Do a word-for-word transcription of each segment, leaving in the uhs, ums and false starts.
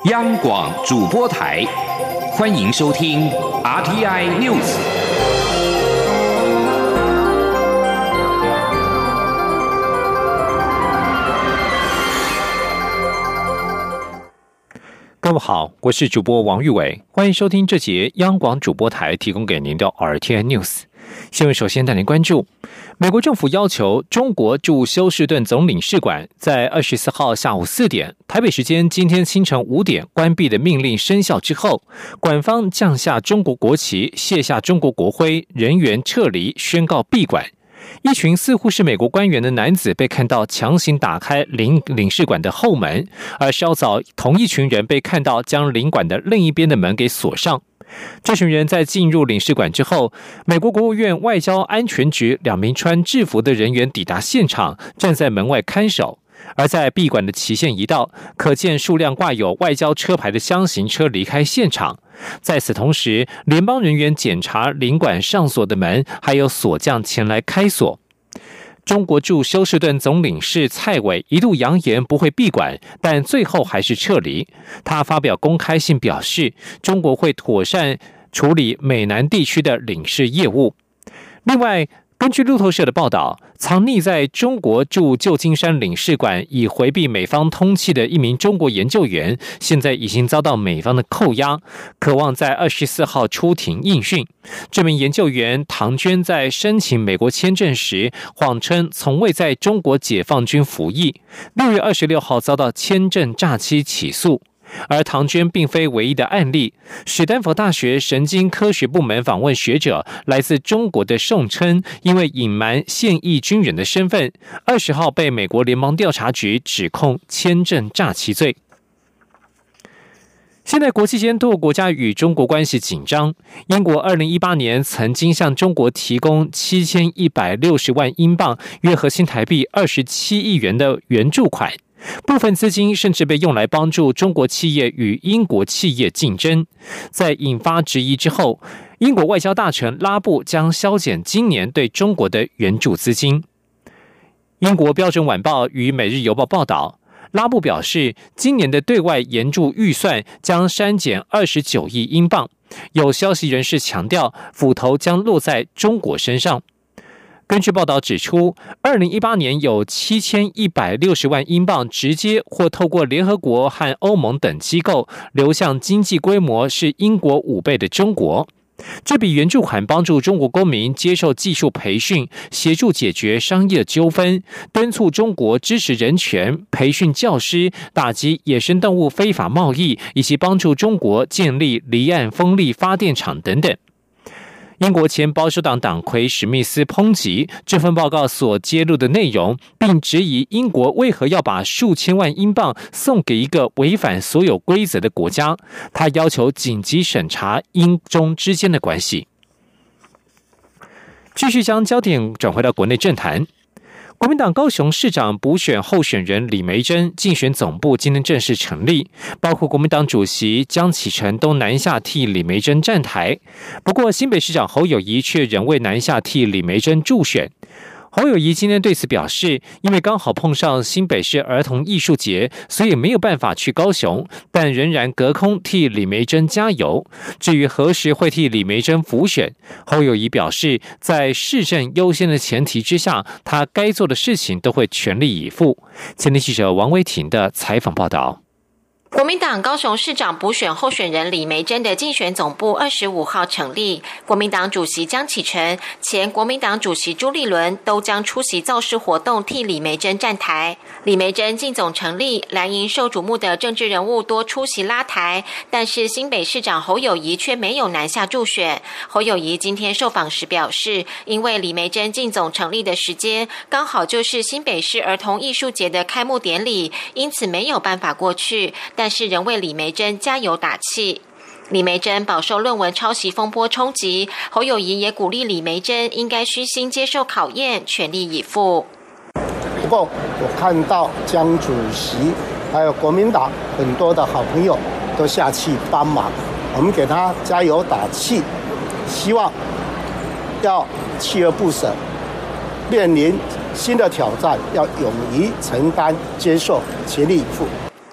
央广主播台，欢迎收听 R T I News。 各位好，我是主播王玉伟，欢迎收听这节央广主播台提供给您的 R T I News。新闻首先带您关注，美国政府要求中国驻休士顿总领事馆在二十四号下午四点，台北时间今天清晨五点关闭的命令生效之后，馆方降下中国国旗，卸下中国国徽，人员撤离，宣告闭馆。一群似乎是美国官员的男子被看到强行打开领领事馆的后门，而稍早同一群人被看到将领馆的另一边的门给锁上。这群人在进入领事馆之后，美国国务院外交安全局两名穿制服的人员抵达现场，站在门外看守。而在闭馆的期限一到，可见数辆挂有外交车牌的箱型车离开现场。在此同时，联邦人员检查领馆上锁的门，还有锁匠前来开锁。中国驻休士顿总领事蔡伟一度扬言不会闭馆，但最后还是撤离。他发表公开信表示，中国会妥善处理美南地区的领事业务。另外，根据路透社的报道，藏匿在中国驻旧金山领事馆以回避美方通缉的一名中国研究员，现在已经遭到美方的扣押，渴望在二十四号出庭应讯。这名研究员唐娟在申请美国签证时，谎称从未在中国解放军服役，六月二十六号遭到签证诈欺起诉。而唐娟并非唯一的案例，史丹佛大学神经科学部门访问学者来自中国的宋琛，因为隐瞒现役军人的身份，二十号被美国联邦调查局指控签证诈欺罪。现在国际间多个国家与中国关系紧张，英国二零一八年曾经向中国提供七千一百六十万英镑，约合新台币二十七亿元的援助款。部分资金甚至被用来帮助中国企业与英国企业竞争。在引发质疑之后，英国外交大臣拉布将削减今年对中国的援助资金。英国标准晚报与每日邮报报道，拉布表示，今年的对外援助预算将删减二十九亿英镑。有消息人士强调，斧头将落在中国身上。根据报道指出，二零一八年有七千一百六十万英镑直接或透过联合国和欧盟等机构流向经济规模是英国五倍的中国。这笔援助款帮助中国公民接受技术培训，协助解决商业纠纷，敦促中国支持人权，培训教师，打击野生动物非法贸易，以及帮助中国建立离岸风力发电厂等等。英国前保守党党魁史密斯抨击这份报告所揭露的内容，并质疑英国为何要把数千万英镑送给一个违反所有规则的国家。他要求紧急审查英中之间的关系。继续将焦点转回到国内政坛。国民党高雄市长补选候选人李眉蓁竞选总部今天正式成立，包括国民党主席江启臣都南下替李眉蓁站台。不过新北市长侯友宜却仍未南下替李眉蓁助选。侯友宜今天对此表示，因为刚好碰上新北市儿童艺术节，所以没有办法去高雄，但仍然隔空替李眉蓁加油。至于何时会替李眉蓁辅选，侯友宜表示，在市政优先的前提之下，他该做的事情都会全力以赴。前天记者王威婷的采访报道。 国民党高雄市长补选候选人李眉蓁的竞选总部二十五号成立，国民党主席江启臣、前国民党主席朱立伦都将出席造势活动替李眉蓁站台。李眉蓁竞总成立，蓝营受瞩目的政治人物多出席拉台，但是新北市长侯友宜却没有南下助选。侯友宜今天受访时表示，因为李眉蓁竞总成立的时间刚好就是新北市儿童艺术节的开幕典礼，因此没有办法过去，但是仍为李眉蓁加油打气。李眉蓁饱受论文抄袭风波冲击，侯友宜也鼓励李眉蓁应该虚心接受考验，全力以赴。 不过我看到江主席还有国民党很多的好朋友都下去帮忙，我们给他加油打气，希望要锲而不舍，面临新的挑战要勇于承担接受，全力以赴。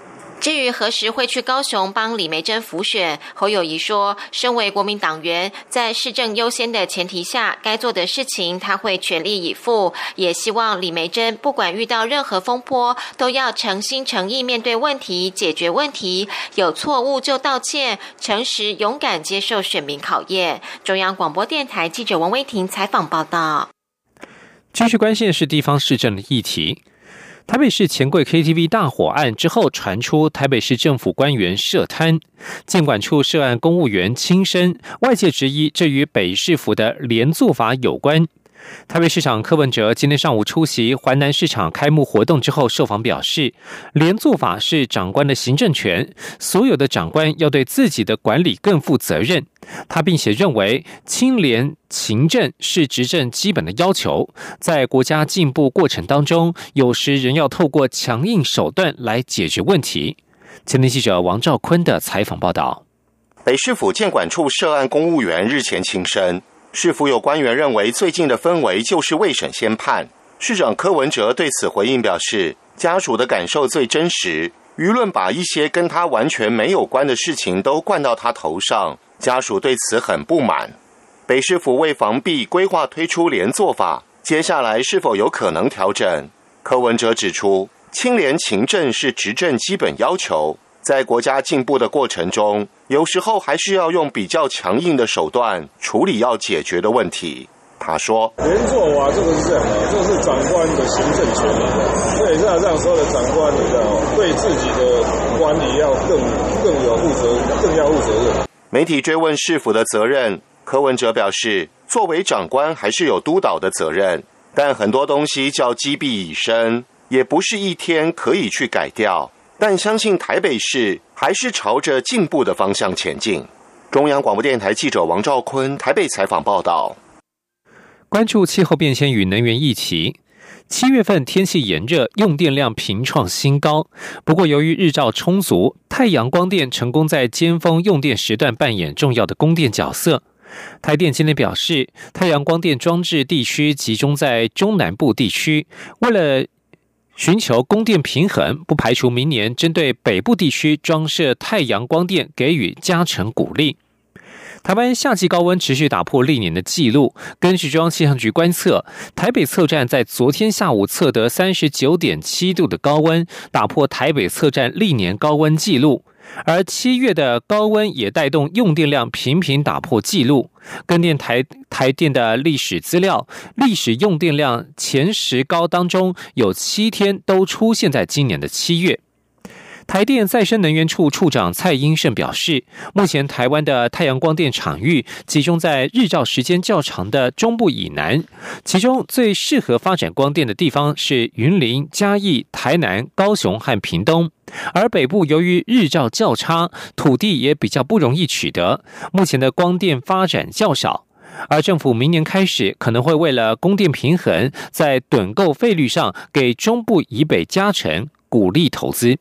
至于何时会去高雄帮李眉蓁辅选，侯友宜说，身为国民党员，在市政优先的前提下，该做的事情他会全力以赴，也希望李眉蓁不管遇到任何风波，都要诚心诚意面对问题，解决问题，有错误就道歉，诚实勇敢接受选民考验。中央广播电台记者王威婷采访报道。 继续关心的是地方市政的议题。台北市钱柜 K T V 大火案之后，传出台北市政府官员涉贪，建管处涉案公务员轻生，外界质疑这与北市府的连坐法有关。台北市长柯文哲今天上午出席环南市场开幕活动之后受访表示，连坐法是长官的行政权，所有的长官要对自己的管理更负责任。他并且认为清廉勤政是执政基本的要求，在国家进步过程当中，有时仍要透过强硬手段来解决问题。前天记者王兆坤的采访报道。 北市府建管处涉案公务员日前轻生，市府有官员认为最近的氛围就是未审先判。市长柯文哲对此回应表示，家属的感受最真实，舆论把一些跟他完全没有关的事情都灌到他头上，家属对此很不满。北市府为防弊规划推出连坐法，接下来是否有可能调整？柯文哲指出，清廉勤政是执政基本要求，在国家进步的过程中，有时候还是要用比较强硬的手段处理要解决的问题。他说， 连坐法这个是这样的，这是长官的行政权利，所以是要让所有的长官你知道对自己的管理要更更有负责，更要负责任。 媒体追问市府的责任，柯文哲表示，作为长官还是有督导的责任，但很多东西叫积弊已深，也不是一天可以去改掉，但相信台北市还是朝着进步的方向前进。中央广播电台记者王兆坤台北采访报道。 关注气候变迁与能源议题，七月份天气炎热，用电量频创新高。不过，由于日照充足，太阳光电成功在尖峰用电时段扮演重要的供电角色。台电今天表示，太阳光电装置地区集中在中南部地区，为了寻求供电平衡，不排除明年针对北部地区装设太阳光电给予加成鼓励。台湾夏季高温持续打破历年的纪录，根据中央气象局观测，台北测站在昨天下午测得 三十九点七 度的高温，打破台北测站历年高温纪录。而七月的高温也带动用电量频频打破纪录。根据台台电的历史资料，历史用电量前十高当中有七天都出现在今年的七月。台电再生能源处处长蔡英胜表示，目前台湾的太阳光电场域集中在日照时间较长的中部以南，其中最适合发展光电的地方是云林、嘉义、台南、高雄和屏东，而北部由于日照较差，土地也比较不容易取得，目前的光电发展较少。而政府明年开始可能会为了供电平衡，在趸购费率上给中部以北加成，鼓励投资。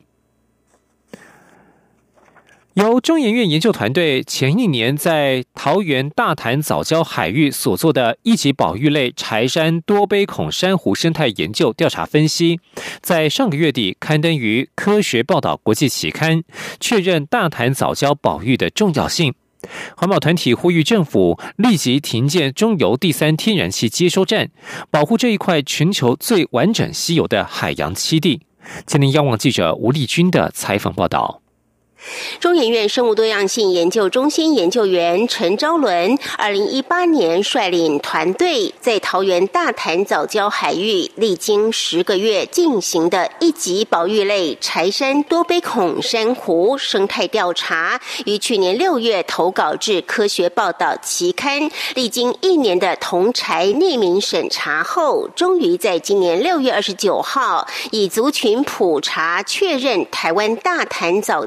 由中研院研究团队前一年在桃园大潭藻礁海域所做的一级保育类柴山多杯孔珊瑚生态研究调查分析，在上个月底刊登于科学报道国际期刊，确认大潭藻礁保育的重要性。环保团体呼吁政府立即停建中油第三天然气接收站，保护这一块全球最完整稀有的海洋栖地。前天央网记者吴丽君的采访报道。 中研院生物多样性研究中心研究员陈昭伦，二零一八年率领团队在桃园大潭藻礁海域，历经十个月进行的一级保育类柴山多杯孔珊瑚生态调查，于去年六月投稿至科学报道期刊，历经一年的同柴匿名审查后，终于在今年六月二十九号以族群普查确认台湾大潭藻礁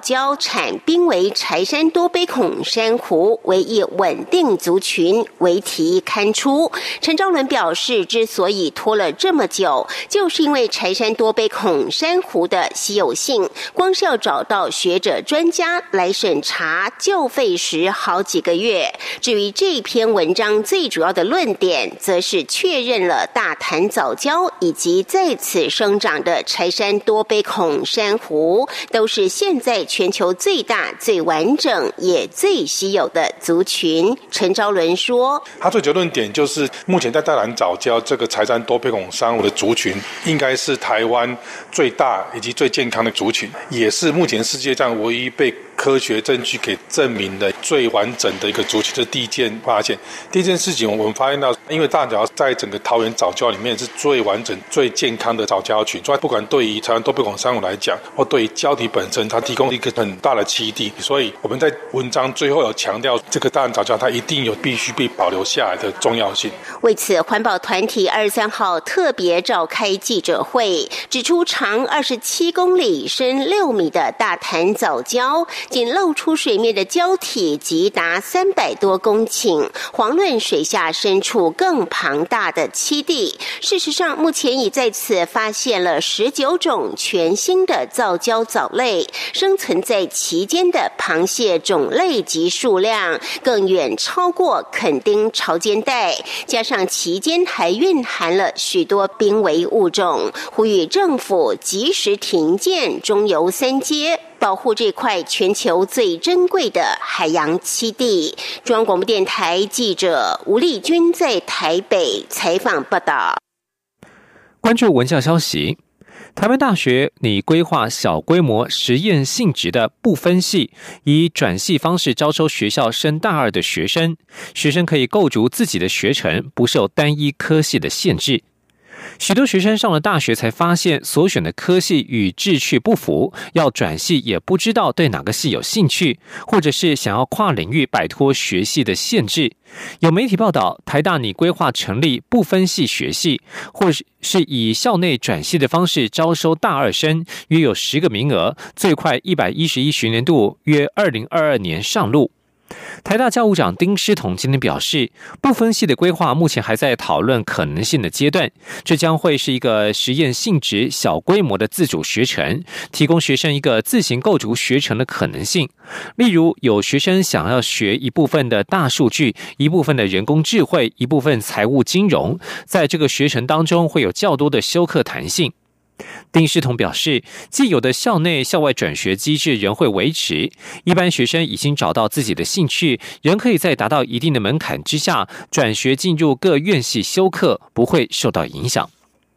产濒危柴山多杯孔珊瑚为一稳定族群为题刊出。陈昭伦表示，之所以拖了这么久，就是因为柴山多杯孔珊瑚的稀有性，光是要找到学者专家来审查就费时好几个月。至于这篇文章最主要的论点，则是确认了大潭藻礁以及在此生长的柴山多杯孔珊瑚都是现在全球最大、最完整也最稀有的族群。陈昭伦说， 他最主要论点就是目前在大潭藻礁这个柴山多杯孔珊瑚的族群应该是台湾最大以及最健康的族群，也是目前世界上唯一被科学证据给证明的最完整的一个族群。这是第一件发现。第一件事情，我们发现到，因为大藻在整个桃园藻礁里面是最完整、最健康的藻礁群，所以不管对于柴山多杯孔珊瑚来讲，或对于礁体本身，它提供一个很大的栖地。所以我们在文章最后有强调，这个大潭藻礁它一定有必须被保留下来的重要性。 为此，环保团体二十三号特别召开记者会，指出长二十七公里、深六米的大潭藻礁，仅露出水面的礁体即达三百多公顷，遑论水下深处更庞大的栖地。事实上，目前已在此发现了十九种全新的藻礁藻类，生存在其间的螃蟹种类及数量更远超过垦丁潮间带，加上其间还蕴含了许多濒危物种，呼吁政府及时停建中油三接，保护这块全球最珍贵的海洋栖地。中央广播电台记者吴丽君在台北采访报道。 关注文教消息，台湾大学拟规划小规模实验性质的不分系，以转系方式招收学校升大二的学生，学生可以构筑自己的学程，不受单一科系的限制。许多学生上了大学才发现所选的科系与志趣不符，要转系也不知道对哪个系有兴趣，或者是想要跨领域摆脱学系的限制。有媒体报道，台大拟规划成立不分系学系，或是以校内转系的方式招收大二生，约有十个名额，最快一百一十一学年度约二零二二年上路。台大教务长丁诗彤今天表示，不分系的规划目前还在讨论可能性的阶段，这将会是一个实验性质小规模的自主学程，提供学生一个自行构筑学程的可能性。例如，有学生想要学一部分的大数据，一部分的人工智慧，一部分财务金融，在这个学程当中会有较多的修课弹性。丁诗彤表示，既有的校内校外转学机制仍会维持，一般学生已经找到自己的兴趣，仍可以在达到一定的门槛之下转学进入各院系修课，不会受到影响。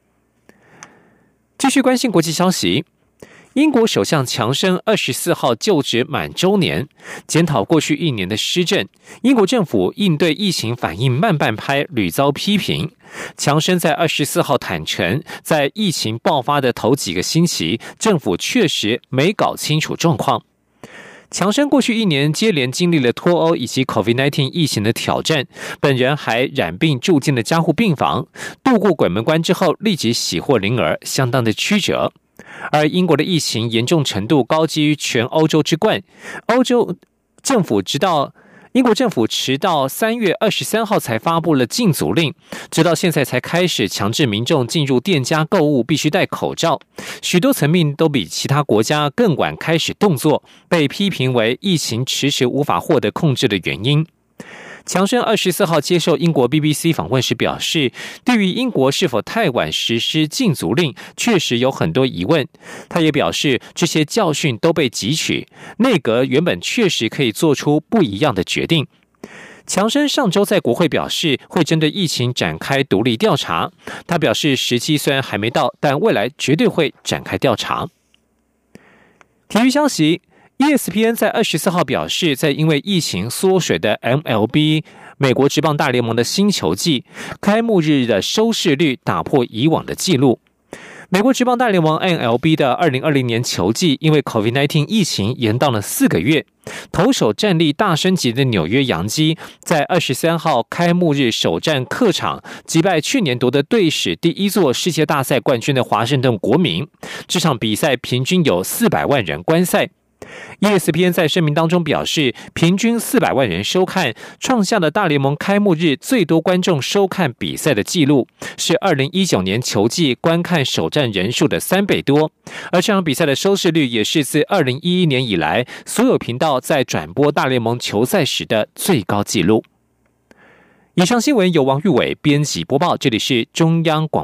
继续关心国际消息，英国首相强生二十四号就职满周年，检讨过去一年的施政，英国政府应对疫情反应慢半拍，屡遭批评。强生在二十四号坦诚，在疫情爆发的头几个星期，政府确实没搞清楚状况。强生过去一年接连经历了脱欧以及 COVID 十九 疫情的挑战，本人还染病住进了加护病房，度过鬼门关之后立即喜获麟儿，相当的曲折。而英国的疫情严重程度高居全欧洲之冠，欧洲政府直到英国政府迟到三月二十三号才发布了禁足令，直到现在才开始强制民众进入店家购物必须戴口罩，许多层面都比其他国家更晚开始动作，被批评为疫情迟迟无法获得控制的原因。强生二十四号接受英国 B B C 访问时表示，对于英国是否太晚实施禁足令，确实有很多疑问。他也表示，这些教训都被汲取，内阁原本确实可以做出不一样的决定。强生上周在国会表示，会针对疫情展开独立调查。他表示，时机虽然还没到，但未来绝对会展开调查。体育消息，E S P N 在二十四号表示，在因为疫情缩水的 M L B 美国职棒大联盟的新球季开幕日的收视率打破以往的纪录。美国职棒大联盟 M L B 的二零二零年球季因为 COVID 十九 疫情延宕了四个月，投手战力大升级的纽约洋基在二十三号开幕日首战客场击败去年夺得队史第一座世界大赛冠军的华盛顿国民。这场比赛平均有四百万人观赛。 E S P N 在声明当中表示，平均四百万人收看，创下了大联盟开幕日最多观众收看比赛的纪录，是二零一九年球季观看首战人数的三倍多。而这场比赛的收视率也是自二零一一年以来所有频道在转播大联盟球赛时的最高纪录。以上新闻由王玉伟编辑播报，这里是中央广